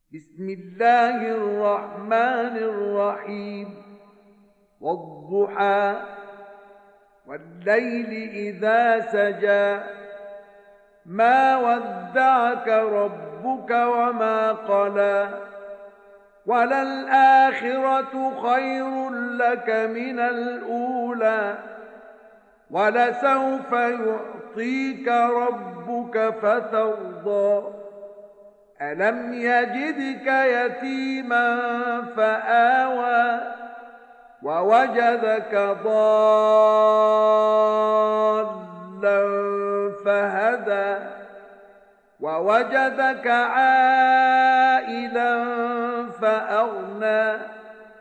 بسم الله الرحمن الرحيم والضحى والليل إذا سجى ما ودعك ربك وما قلى وللآخرة خير لك من الأولى ولسوف يعطيك ربك فترضى ألم يجدك يتيما فآوى ووجدك ضالا فهدى ووجدك عائلا فأغنى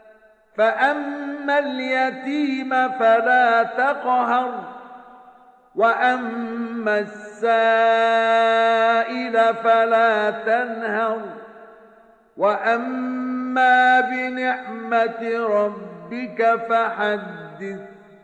فأما اليتيم فلا تقهر وأما السائل فلا تنهر وأما بنعمة ربك فحدث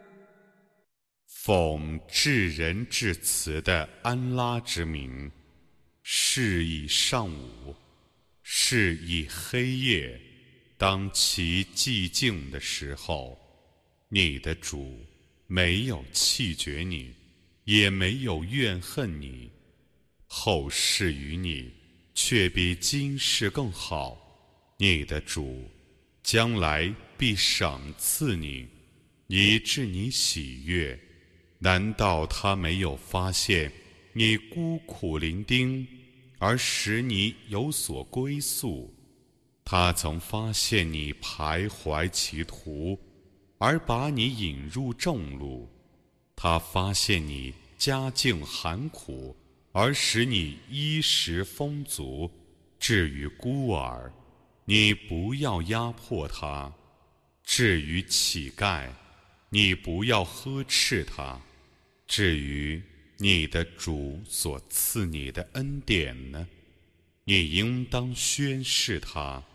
奉至仁至慈的安拉之名，是以上午，是以黑夜，当其寂静的时候，你的主没有弃绝你，也没有怨恨你，后世于你却比今世更好，你的主将来必赏赐你，以致你喜悦。难道他没有发现你孤苦伶仃，而使你有所归宿？他曾发现你徘徊歧途，而把你引入正路。他发现你家境寒苦，而使你衣食丰足。至于孤儿，你不要压迫他；至于乞丐，你不要呵斥他。至于你的主所赐你的恩典呢，你应当宣示他。